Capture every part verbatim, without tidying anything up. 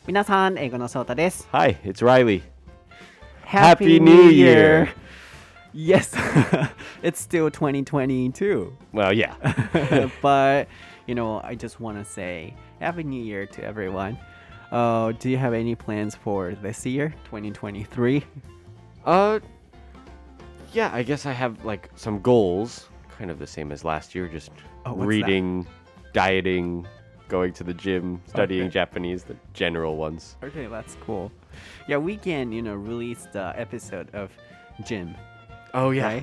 皆さん、英語のソータです。 Hi, it's Riley. Happy Happy New Year! Yes, it's still twenty twenty-two. Well, yeah. But, you know, I just want to say Happy New Year to everyone. Uh, do you have any plans for this year, twenty twenty-three? Uh, yeah, I guess I have like some goals, kind of the same as last year, just Oh, what's reading, dieting, going to the gym, studying Okay. Japanese, the general ones. Okay, that's cool. Yeah, we can, you know, release the episode of Gym. Oh, Right?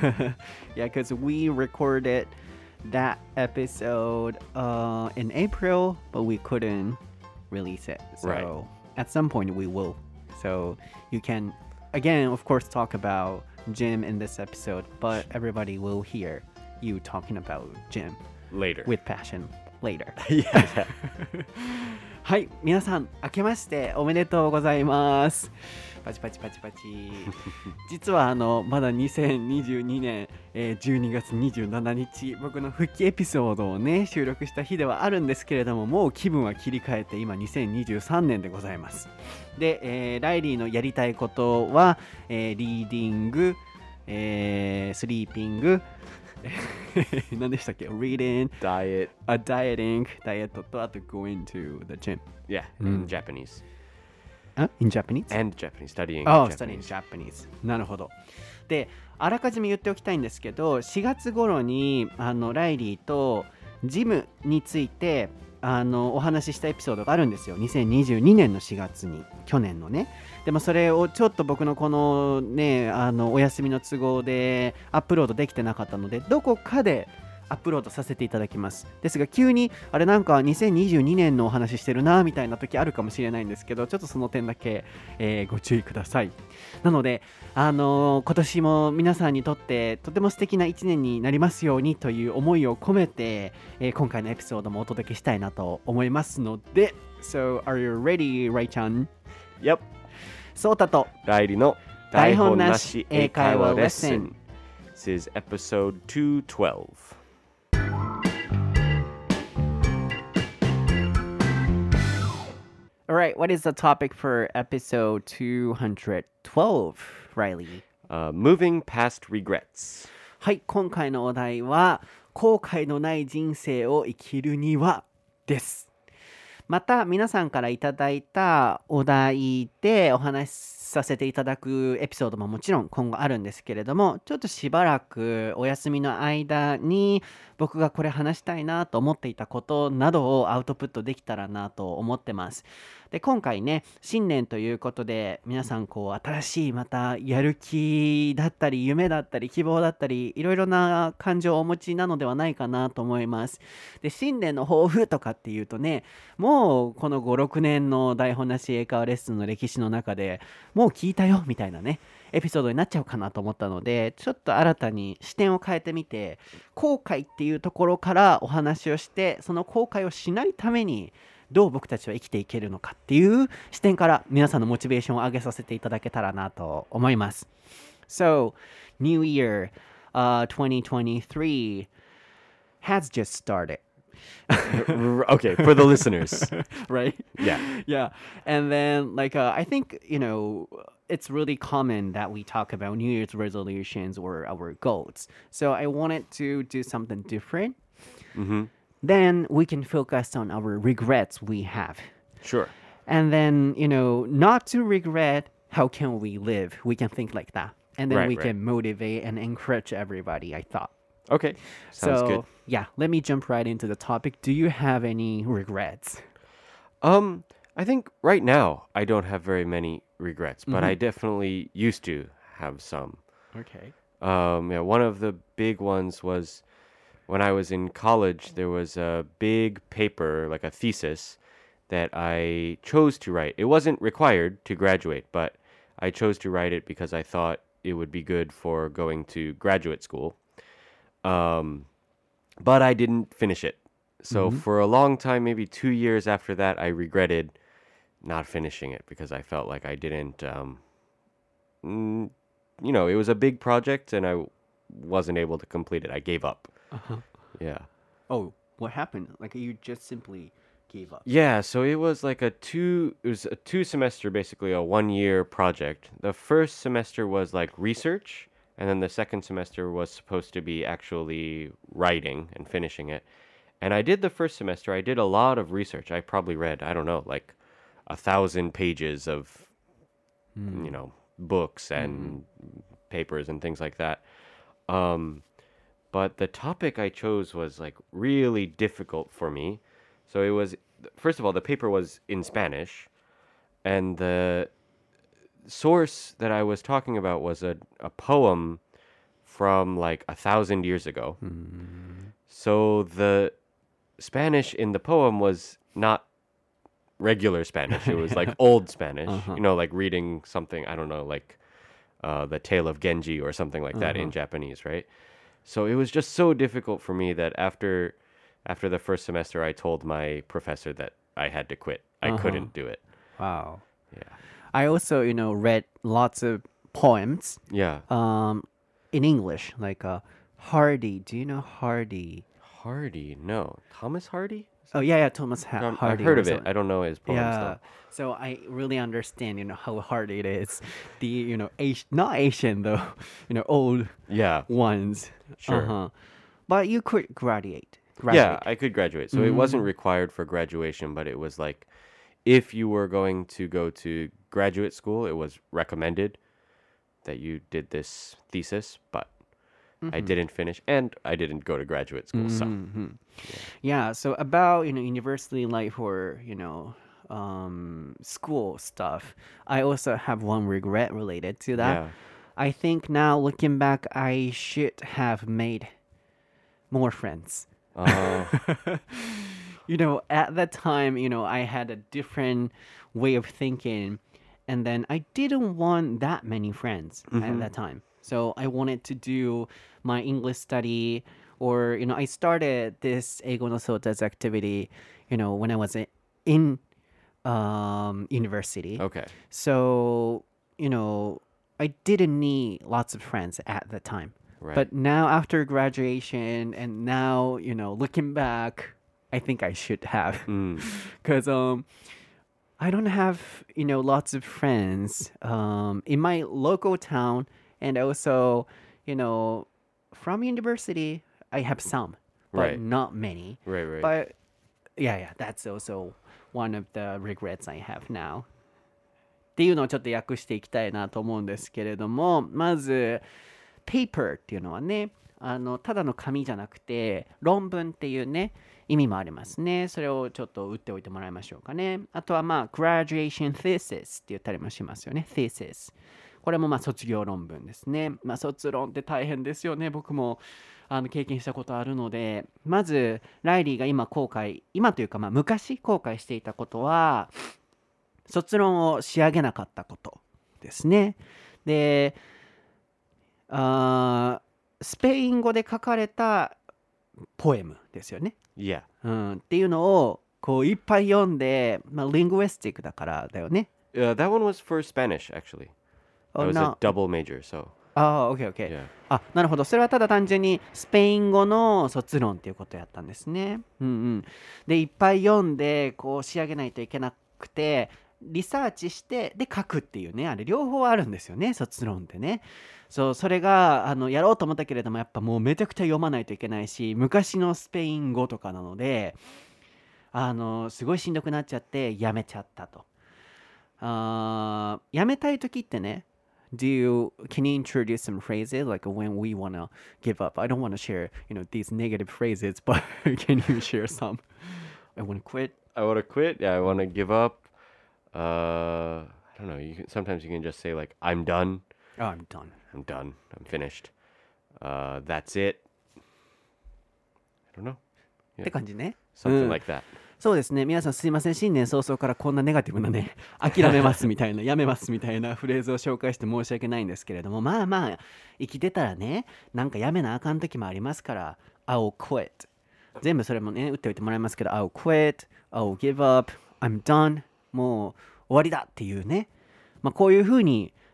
Yeah, because we recorded that episode uh, in April, but we couldn't release it. So Right. at some point we will. So you can, again, of course, talk about gym in this episode, but everybody will hear you talking about gym Later. with passion later. yeah. はい、皆さん、明けましておめでとうございます。パチパチパチパチ。実はあのまだにせんにじゅうにねん、えー、じゅうにがつにじゅうしちにち、僕の復帰エピソードをね収録した日ではあるんですけれども、もう気分は切り替えて今にせんにじゅうさんねんでございます。で、えー、ライリーのやりたいことは、えー、リーディング、えー、スリーピング、何でしたっけ ?reading, Diet. a dieting, ダイエットとあと going to the gym. Yeah, in Japanese. Uh, in Japanese? And Japanese, studying Oh, Japanese. studying Japanese. なるほど。で、あらかじめ言っておきたいんですけど、しがつ頃にあのライリーとジムについてあのお話ししたエピソードがあるんですよ。にせんにじゅうにねんのしがつに、去年のね。でもそれをちょっと僕のこのね、あのお休みの都合でアップロードできてなかったので、どこかでアップロードさせていただきます。ですが急にあれなんかにせんにじゅうにねんのお話ししてるなみたいな時あるかもしれないんですけど、ちょっとその点だけ、えーご注意ください。なので、あのー今年も皆さんにとってとても素敵ないちねんになりますようにという思いを込めて、えー今回のエピソードもお届けしたいなと思いますので、So, are you ready, ライちゃん? Yep. そうたとライリの台本なし英会話レッスン This is episode two twelve. Alright, what is the topic for episode two twelve, Riley? Uh, moving past regrets. はい、今回のお題は後悔のない人生を生きるにはです。また皆さんからいただいたお題でお話しさせていただくエピソードももちろん今後あるんですけれども、ちょっとしばらくお休みの間に僕がこれ話したいなと思っていたことなどをアウトプットできたらなと思ってます。で、今回ね、新年ということで皆さんこう新しいまたやる気だったり夢だったり希望だったりいろいろな感情をお持ちなのではないかなと思います。で、新年の抱負とかっていうとね、もうこのご、ろくねんの台本なし英会話レッスンの歴史の中でもう聞いたよみたいなねエピソードになっちゃうかなと思ったので、ちょっと新たに視点を変えてみて、後悔っていうところからお話をして、その後悔をしないためにどう僕たちは生きていけるのかっていう視点から皆さんのモチベーションを上げさせていただけたらなと思います。So, New Year、uh, twenty twenty-three has just started. Okay, for the listeners. Right? Yeah. Yeah. And then, like, uh, I think, you know, it's really common that we talk about New Year's resolutions or our goals. So I wanted to do something different. Mm-hmm. Then we can focus on our regrets we have. Sure. And then, you know, not to regret, how can we live? We can think like that. And then Right, we right. can motivate and encourage everybody, I thought. Okay. Sounds so, good. yeah, let me jump right into the topic. Do you have any regrets? Um, I think right now I don't have very many regrets, but Mm-hmm. I definitely used to have some. Okay. Um, yeah, one of the big ones was when I was in college, there was a big paper, like a thesis, that I chose to write. It wasn't required to graduate, but I chose to write it because I thought it would be good for going to graduate school. Um, but I didn't finish it. So for a long time, maybe two years after that, I regretted not finishing it because I felt like I didn't, um, mm, you know, it was a big project and I wasn't able to complete it. I gave up. Uh-huh. Yeah. Oh, what happened? Like you just simply gave up? Yeah, so it was like a two it was a two semester basically a one year project. The first semester was like research and then the second semester was supposed to be actually writing and finishing it. And I did the first semester. I did a lot of research. I probably read, I don't know, like a thousand pages of you know, books and papers and things like that. Um but the topic I chose was like really difficult for me. So it was first of all the paper was in Spanish and the source that I was talking about was a, a poem from like a thousand years ago. So the Spanish in the poem was not regular Spanish. It was like old Spanish, you know, like reading something, I don't know, like uh, the Tale of Genji or something like that in Japanese, right? So it was just so difficult for me that after after the first semester, I told my professor that I had to quit. I couldn't do it. Wow. Yeah. I also, you know, read lots of poems Yeah. um, in English, like uh, Hardy. Do you know Hardy? Hardy, no. Thomas Hardy? Oh, yeah, yeah, Thomas ha- Um, Hardy. I've heard or of it. something. I don't know his poems Yeah. though. So I really understand, you know, how hard it is. The, you know, Asian, not Asian though, you know, old Yeah. ones. Sure. Uh-huh. But you could graduate. Yeah, graduate. I could graduate. So it wasn't required for graduation, but it was like if you were going to go to graduate school, it was recommended that you did this thesis, but I didn't finish and I didn't go to graduate school. So Yeah, so about, you know, university life or, you know, um, school stuff, I also have one regret related to that. yeah. I think now looking back, I should have made more friends. Uh, You know, at that time, you know, I had a different way of thinking, and then I didn't want that many friends at that time. So I wanted to do my English study, or, you know, I started this Eigo no Sota's activity, you know, when I was i- in um, university. okay. So, you know, I didn't need lots of friends at the time. Right. But now after graduation and now, you know, looking back, I think I should have. Mm. Cuz um I don't have, you know, lots of friends um in my local town, and also, you know, from university, I have some, but Right. not many. Right, right. But yeah, yeah, that's also one of the regrets I have now. っていうのをちょっと訳していきたいなと思うんですけれども、まず paper っていうのはね、あのただの紙じゃなくて論文っていうね意味もありますね。それをちょっと打っておいてもらいましょうかね。あとはまあ graduation thesis って言ったりもしますよね。thesis。これもまあ卒業論文ですね。まあ卒論って大変ですよね。僕もあの経験したことあるので、まずライリーが今後悔、今というかまあ昔後悔していたことは、卒論を仕上げなかったことですね。で、あースペイン語で書かれたポエムですよね。 Yeah. うん、っていうのをこういっぱい読んで、まあ、リングウィスティックだからだよね。 Uh, that one was for Spanish, actually. Oh, That was no. a double major, so ああ、オッケーオッケー。 yeah. あ、なるほど。それはただ単純にスペイン語の卒論っていうことやったんですね。うんうん。で、いっぱい読んで、こう仕上げないといけなくて、リサーチして、で、書くっていうね、あれ両方あるんですよね、卒論ってね。そう、それが、あの、やろうと思ったけれども、やっぱもうめちゃくちゃ読まないといけないし、昔のスペイン語とかなので、あの、すごいしんどくなっちゃって、やめちゃったと。あーやめたい時ってね、Do you can you introduce some phrases like when we wanna give up? I don't want to share, you know, these negative phrases, but can you share some? I want to quit. I want to quit. Yeah, I want to give up. Uh, I don't know. You can sometimes you can just say like, "I'm done. Oh, I'm done. I'm done. I'm finished. Uh, that's it." I don't know. って感じね。 Something うん like that. そうですね。皆さんすいません。新年早々からこんなネガティブなね、諦めますみたいな、やめますみたいなフレーズを紹介して申し訳ないんですけれども、まあまあ、生きてたらね、なんかやめなあかん時もありますから、I'll quit。全部それもね、打っておいてもらいますけど、I'll quit, I'll give up, I'm done。もう終わりだっていうね。まあこういうふうに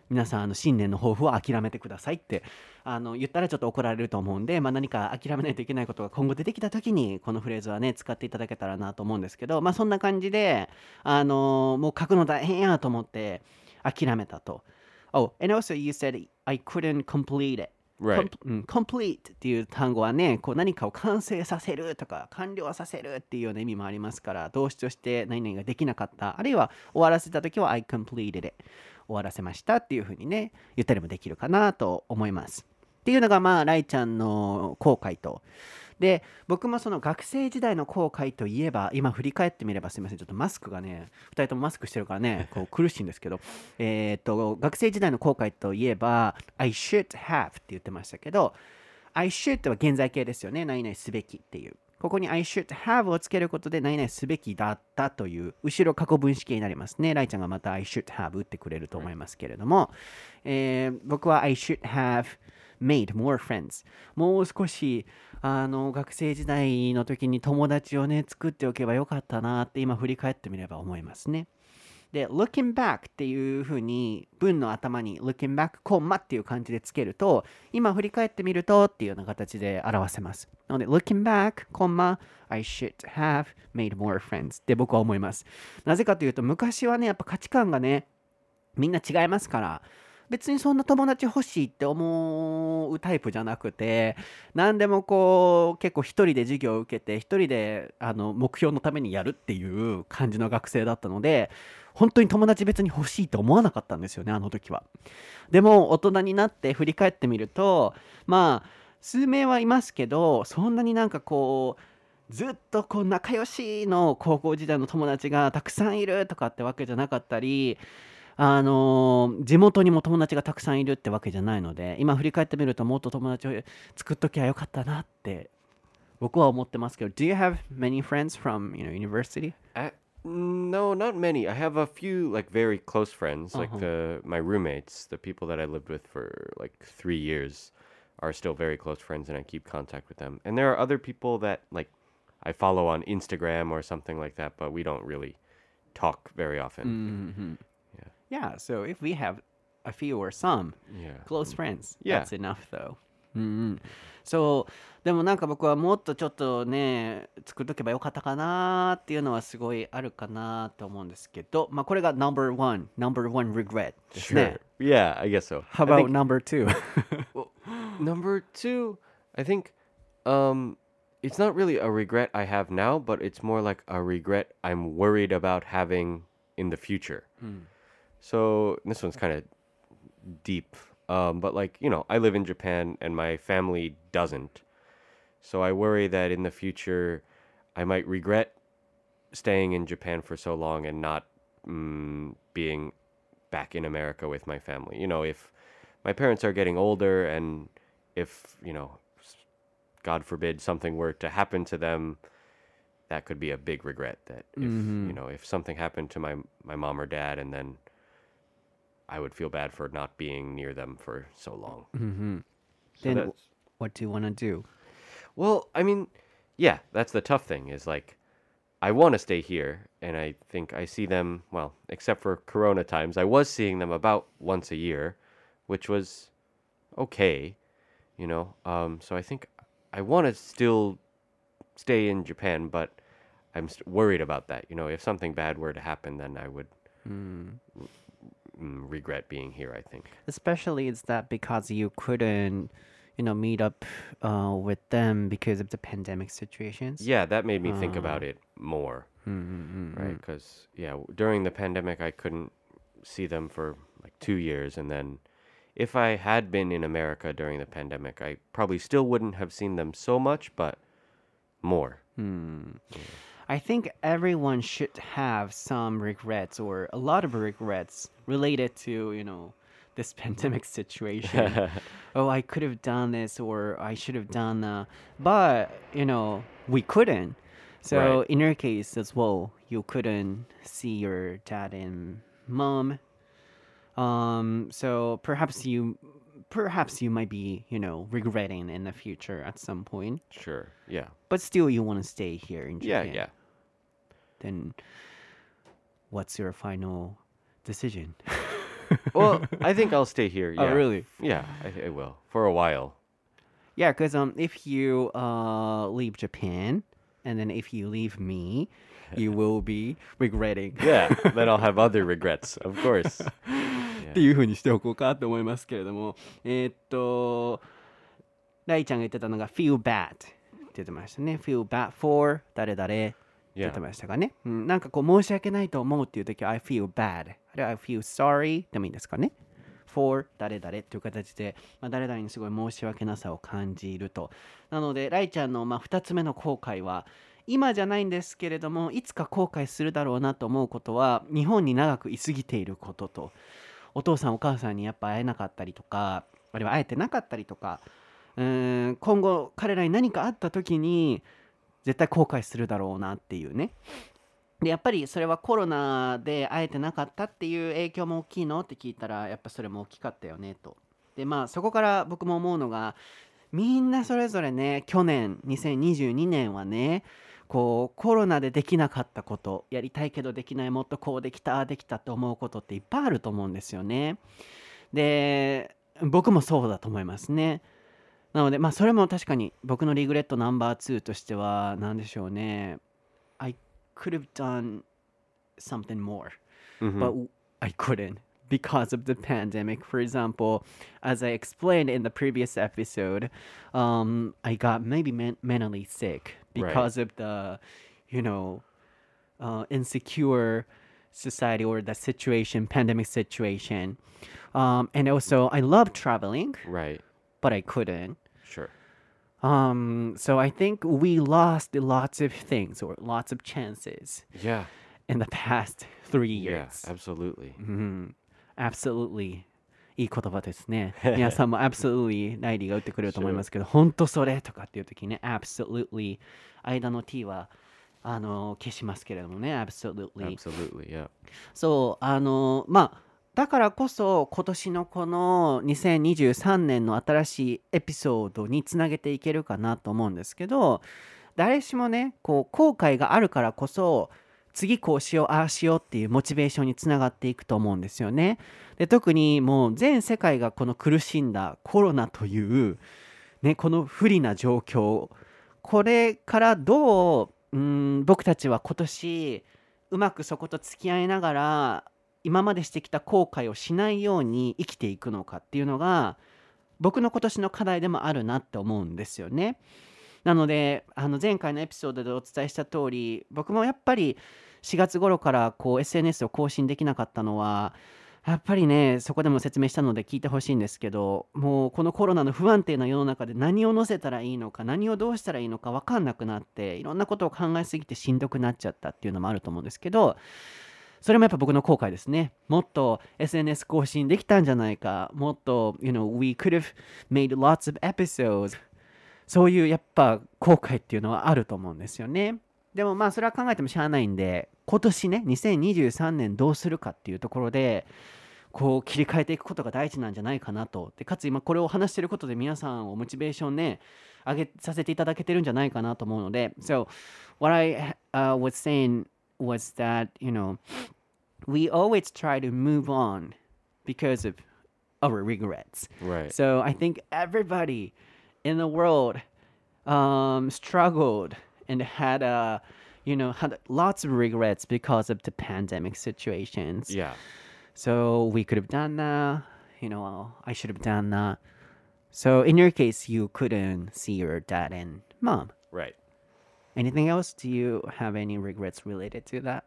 皆さんあの新年の抱負は諦めてくださいってあの言ったらちょっと怒られると思うんで、まあ、何か諦めないといけないことが今後出てきた時にこのフレーズはね使っていただけたらなと思うんですけど、まあそんな感じであのもう書くの大変やと思って諦めたと。Oh, and also you said I couldn't complete it. Right. Com- うん complete っていう単語はね、こう何かを完成させるとか完了させるっていうような意味もありますから、動詞として何々ができなかった、あるいは終わらせた時は I completed it。終わらせましたっていうふうにね、言ったりもできるかなと思います。っていうのがまあ、ライちゃんの後悔と。で、僕もその学生時代の後悔といえば、今振り返ってみればすみません、ちょっとマスクがね、ふたりともマスクしてるからね、こう苦しいんですけど、えっと、学生時代の後悔といえば、I should have って言ってましたけど、I should は現在形ですよね、何々すべきっていう。ここに I should have をつけることで何々すべきだったという後ろ過去分詞形になりますね。ライちゃんがまた I should have 打ってくれると思いますけれども、えー僕は I should have made more friends。もう少しあの学生時代の時に友達をね作っておけばよかったなって今振り返ってみれば思いますね。で、looking back っていう風に文の頭に looking back コンマっていう感じでつけると、今振り返ってみるとっていうような形で表せます。なので、looking back コンマ I should have made more friends って僕は思います。なぜかというと、昔はね、やっぱ価値観がね、みんな違いますから、別にそんな友達欲しいって思うタイプじゃなくて、何でもこう結構一人で授業を受けて一人であの目標のためにやるっていう感じの学生だったので、本当に友達別に欲しいと思わなかったんですよね、あの時は。でも大人になって振り返ってみると、まあ数名はいますけど、そんなになんかこうずっとこう仲良しの高校時代の友達がたくさんいるとかってわけじゃなかったり、あのー地元にも友達がたくさんいるってわけじゃないので、今振り返ってみるともっと友達を作っときゃよかったなって僕は思ってますけど、Do you have many friends from, you know, university? I, no, not many. I have a few like very close friends, like Uh-huh. the my roommates, the people that I lived with for like three years, are still very close friends, and I keep contact with them. And there are other people that like I follow on Instagram or something like that, but we don't really talk very often. Mhm. Yeah, so if we have a few or some Yeah. close friends, Yeah. that's enough though. うんうん、そうでもなんか僕はもっとちょっとね作っとけばよかったかなっていうのはすごいあるかなと思うんですけど、まあこれが number one number one regret ですね。 Sure. Yeah, I guess so. How I about think number two? well, number two, I think um it's not really a regret I have now, but it's more like a regret I'm worried about having in the future. So this one's kind of deep. Um, but like, you know, I live in Japan and my family doesn't. So I worry that in the future I might regret staying in Japan for so long and not mm, being back in America with my family. You know, if my parents are getting older and if, you know, s- God forbid something were to happen to them, that could be a big regret that if, you know, if something happened to my my mom or dad and then I would feel bad for not being near them for so long. So Then that's what do you want to do? well, I mean, yeah, that's the tough thing is like I want to stay here and I think I see them, well, except for corona times, I was seeing them about once a year, which was okay, you know. Um so I think I want to still stay in Japan, but I'm st- worried about that. You know, if something bad were to happen, then I would mm, regret being here, I think. Especially it's that because you couldn't, you know, meet up uh, with them because of the pandemic situations. Yeah, that made me think about it more, right? Because, yeah, w- during the pandemic, I couldn't see them for like two years. And then if I had been in America during the pandemic, I probably still wouldn't have seen them so much, but more. I think everyone should have some regrets or a lot of regrets related to, you know, this pandemic situation. Oh, I could have done this or I should have done that. But, you know, we couldn't. So Right. in your case as well, you couldn't see your dad and mom. Um, so perhaps you perhaps you might be, you know, regretting in the future at some point. Sure. Yeah. But still you want to stay here in Yeah, Japan. yeah. Then what's your final decision? Well, I think I'll stay here. Oh, Yeah. really? Yeah, I, I will for a while. Yeah, because um, if you uh leave Japan, and then if you leave me, you will be regretting. Yeah, then I'll have other regrets, of course. っていう風にしておこうかと思いますけれども、えーっと、ライちゃんが言ってたのが feel bad って言ってましたね。feel bad for 誰々って言ってましたかね。うん、なんかこう申し訳ないと思うっていう時は I feel bad。あるいは I feel sorry でもいいんですかね。for 誰々っていう形で、まあ、誰々にすごい申し訳なさを感じると。なので、ライちゃんのまあふたつめの後悔は、今じゃないんですけれども、いつか後悔するだろうなと思うことは、日本に長く居すぎていることと、お父さんお母さんにやっぱ会えなかったりとか、あるいは会えてなかったりとか、うーん今後彼らに何かあった時に絶対後悔するだろうなっていうね。でやっぱりそれはコロナで会えてなかったっていう影響も大きいのって聞いたらやっぱそれも大きかったよねと。でまあそこから僕も思うのがみんなそれぞれね去年にせんにじゅうにねんはねこうコロナでできなかったことやりたいけどできないもっとこうできたああできたって思うことっていっぱいあると思うんですよね。で僕もそうだと思いますね。なのでまあそれも確かに僕のリグレットナンバーツーとしては何でしょうね。I could have done something more, Mhm. but I couldn't because of the pandemic. For example, as I explained in the previous episode, um, I got maybe men- mentally sick because of the, you know, uh, insecure society or the situation, pandemic situation. Um, and also, I love traveling, Right. but I couldn't. Sure. Um, so I think we lost lots of things or lots of chances Yeah. in the past three Yeah, years. absolutely. Absolutely. いい言葉ですね。皆さんも absolutely ライリーが打ってくれると思いますけど、本当それとかっていう時にね、absolutely 間の t はあの消しますけれどもね、absolutely。 Absolutely, yeah. そう、あのまあだからこそ今年のこのにせんにじゅうさんねんの新しいエピソードにつなげていけるかなと思うんですけど、誰しもねこう後悔があるからこそ次こうしようああしようっていうモチベーションにつながっていくと思うんですよね。で特にもう全世界がこの苦しんだコロナという、ね、この不利な状況、これからどう、うーん僕たちは今年うまくそこと付き合いながら今までしてきた後悔をしないように生きていくのかっていうのが僕の今年の課題でもあるなって思うんですよね。なのであの前回のエピソードでお伝えした通り、僕もやっぱりしがつ頃からこう エスエヌエス を更新できなかったのはやっぱりね、そこでも説明したので聞いてほしいんですけど、もうこのコロナの不安定な世の中で何を載せたらいいのか何をどうしたらいいのか分かんなくなって、いろんなことを考えすぎてしんどくなっちゃったっていうのもあると思うんですけど、それもやっぱ僕の後悔ですね。もっと エスエヌエス 更新できたんじゃないか、もっと you know we could have made lots of episodes、 そういうやっぱ後悔っていうのはあると思うんですよね。でもまあそれは考えてもしゃあないんで、今年ねにせんにじゅうさんねんどうするかっていうところでこう切り替えていくことが大事なんじゃないかなと。でかつ今これを話していることで皆さんをモチベーションね上げさせていただけてるんじゃないかなと思うので、 So what I、uh, was saying was that you know we always try to move on because of our regrets. Right. So I think everybody in the world um, struggled and had a, you know, had lots of regrets because of the pandemic situations. Yeah. So we could have done that. You know, I should have done that. So in your case, you couldn't see your dad and mom. Right. Anything else? Do you have any regrets related to that?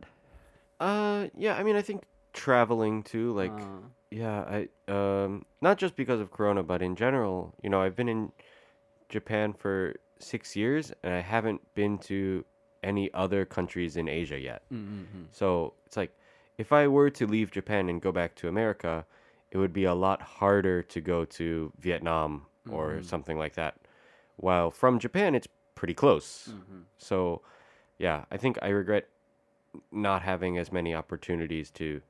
Uh, yeah, I mean, I think traveling too, like, Uh, yeah, I, um, not just because of Corona, but in general, you know, I've been in Japan for six years and I haven't been to any other countries in Asia yet. So it's like, if I were to leave Japan and go back to America, it would be a lot harder to go to Vietnam or something like that. While from Japan, it's pretty close. So, yeah, I think I regret not having as many opportunities to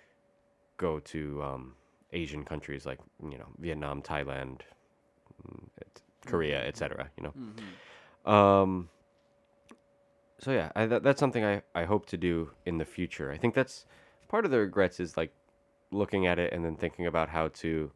go to um, Asian countries like, you know, Vietnam, Thailand, mm, et- Korea, et cetera. You know, um, so yeah, I, that, that's something I, I hope to do in the future. I think that's part of the regrets is like looking at it and then thinking about how to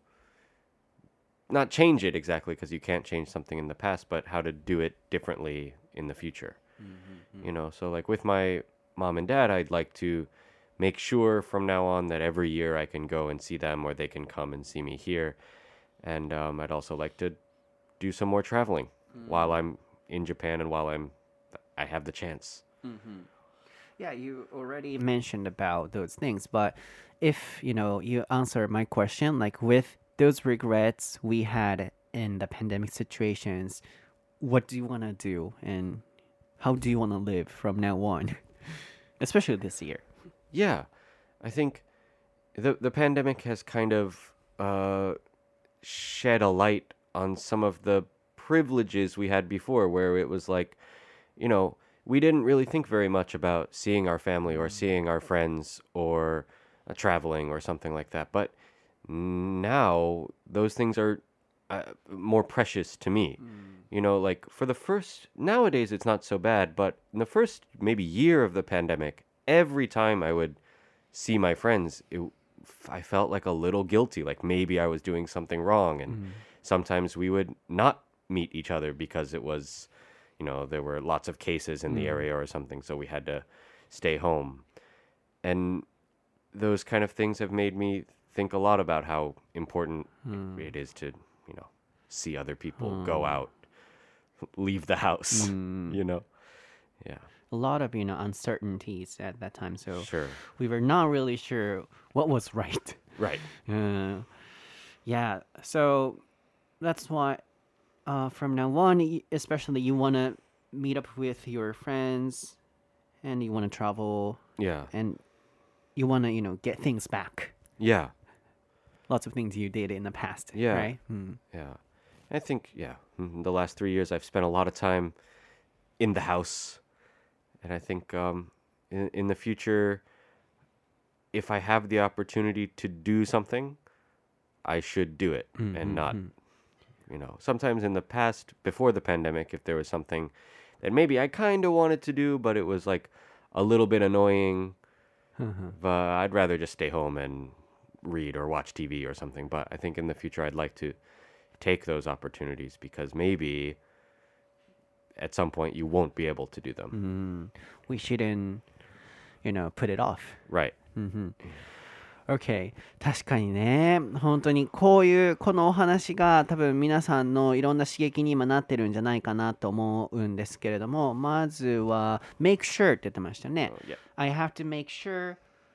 not change it exactly because you can't change something in the past, but how to do it differently in the future. Mm-hmm. You know, so like with my mom and dad, I'd like to make sure from now on that every year I can go and see them or they can come and see me here. And um, I'd also like to do some more traveling while I'm in Japan and while I'm I have the chance. Mm-hmm. Yeah, you already mentioned about those things, but if you know you answer my question, like with those regrets we had in the pandemic situations, what do you want to do and how do you want to live from now on, especially this year? Yeah, I think the the pandemic has kind of uh, shed a light on some of the privileges we had before, where it was like, you know, we didn't really think very much about seeing our family or seeing our friends or uh, traveling or something like that. But now those things are uh, more precious to me. You know, like for the first, nowadays it's not so bad, but in the first maybe year of the pandemic, every time I would see my friends, it, I felt like a little guilty, like maybe I was doing something wrong. And sometimes we would not meet each other because it was, you know, there were lots of cases in the area or something, so we had to stay home. And those kind of things have made me think a lot about how important it is to, you know, see other people, go out, leave the house, you know? Yeah. A lot of you know uncertainties at that time, so Sure. we were not really sure what was right. Right. Uh, yeah, so that's why uh, from now on, y- especially you want to meet up with your friends and you want to travel Yeah. and you want to, you know, get things back. Yeah. Lots of things you did in the past, Yeah. right? Mm. Yeah. I think, yeah, mhm, the last three years I've spent a lot of time in the house. And I think um, in, in the future, if I have the opportunity to do something, I should do it and not, you know, sometimes in the past, before the pandemic, if there was something that maybe I kind of wanted to do, but it was like a little bit annoying, but I'd rather just stay home and read or watch T V or something. But I think in the future, I'd like to take those opportunities because maybe at some point you won't be able to do them. We shouldn't, you know, put it off. Right. Okay. 確かにね、本当にこういうこのお話が多分皆さんのいろんな刺激に今なってるんじゃないかなと思うんですけれども、まずは make sure って言ってましたね。 Oh, yeah. I have to make sure,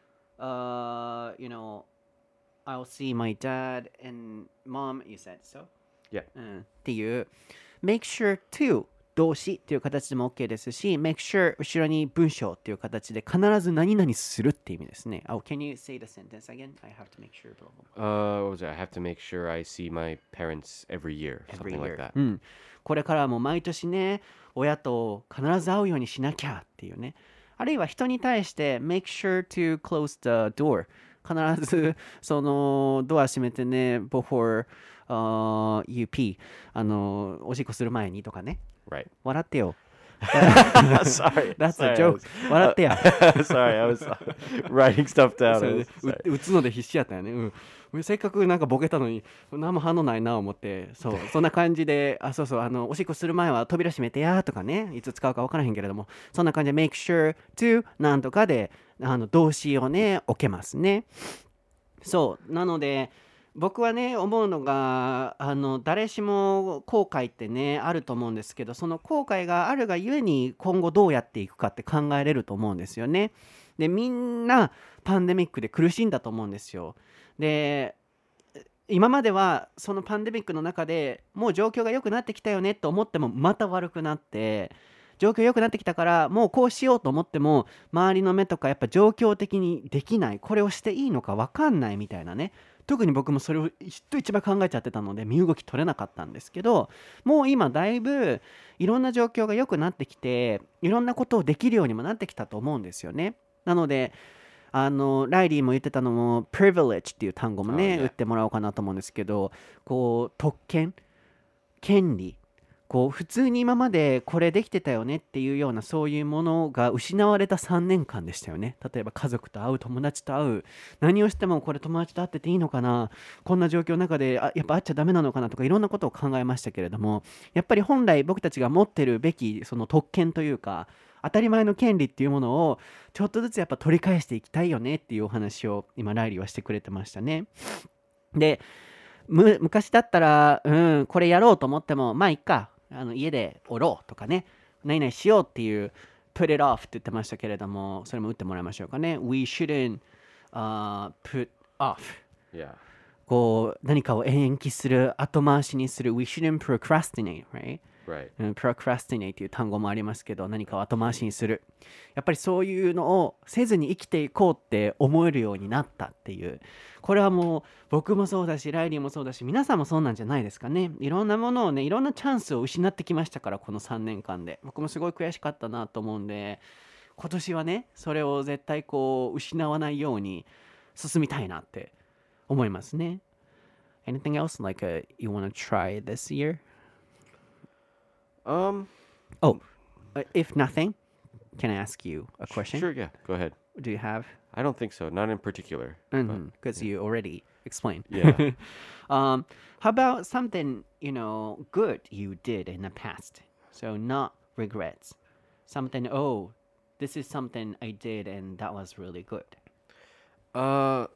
uh, you know, I'll see my dad and mom, you said so? Yeah. うん、っていう make sure to 動詞っていう形でも OK ですし make sure 後ろに文章っていう形で必ず何々するっていう意味ですね。Oh, can you say the sentence again? I have to make sure. Blah, blah, blah. Uh, what was it? I have to make sure I see my parents every year. Every Something year. like that. うん。これからも毎年ね、親と必ず会うようにしなきゃっていうね。あるいは人に対して make sure to close the door。必ずそのドア閉めてね before、uh, you pee あのおしっこする前にとかね。 Right. 笑ってよ。 Sorry. That's Sorry, a I joke. was- 笑ってや。 Sorry, I was uh, writing stuff そ down. れ I で was- う sorry. 打つので必死やったよね、うん俺せっかくなんかボケたのに何も反応ないな思ってそうそんな感じであそうそうあのおしっこする前は扉閉めてやとかねいつ使うか分からへんけれどもそんな感じで make sure to なんとかであの動詞をね置けますねそうなので僕はね思うのがあの誰しも後悔ってねあると思うんですけどその後悔があるがゆえに今後どうやっていくかって考えれると思うんですよねでみんなパンデミックで苦しんだと思うんですよで今まではそのパンデミックの中でもう状況が良くなってきたよねと思ってもまた悪くなって状況良くなってきたからもうこうしようと思っても周りの目とかやっぱ状況的にできないこれをしていいのか分かんないみたいなね特に僕もそれを人一番考えちゃってたので身動き取れなかったんですけどもう今だいぶいろんな状況が良くなってきていろんなことをできるようにもなってきたと思うんですよねなのであのライリーも言ってたのも privilege っていう単語もね、 Oh, yeah. 打ってもらおうかなと思うんですけどこう特権権利こう普通に今までこれできてたよねっていうようなそういうものが失われたさんねんかんでしたよね。例えば家族と会う、友達と会う、何をしてもこれ友達と会ってていいのかな、こんな状況の中であやっぱ会っちゃダメなのかなとかいろんなことを考えましたけれども、やっぱり本来僕たちが持ってるべきその特権というか当たり前の権利っていうものをちょっとずつやっぱ取り返していきたいよねっていうお話を今ライリーはしてくれてましたね。で、む昔だったら、うん、これやろうと思っても、まあいっか、あの家でおろうとかね、何々しようっていう、put it off って言ってましたけれども、それも打ってもらいましょうかね。We shouldn't、uh, put off. Yeah. こう、何かを延期する、後回しにする。We shouldn't procrastinate, right? Right. うん、procrastinate という単語もありますけど、何かを後回しにする。やっぱりそういうのをせずに生きていこうって思えるようになったっていう。これはもう僕もそうだし、ライリーもそうだし、皆さんもそうなんじゃないですかね。いろんなものをね、いろんなチャンスを失ってきましたから、このさんねんかんで。僕もすごい悔しかったなと思うんで、今年はね、それを絶対こう、失わないように進みたいなって思いますね。Anything else like、uh, you want to try this year? Um. Oh, uh, if nothing, can I ask you a question? Sure. Yeah. Go ahead. Do you have? I don't think so. Not in particular. Because you already explained. Yeah. um, how about something, you know, good you did in the past? So not regrets. Something, oh, this is something I did and that was really good. Uh,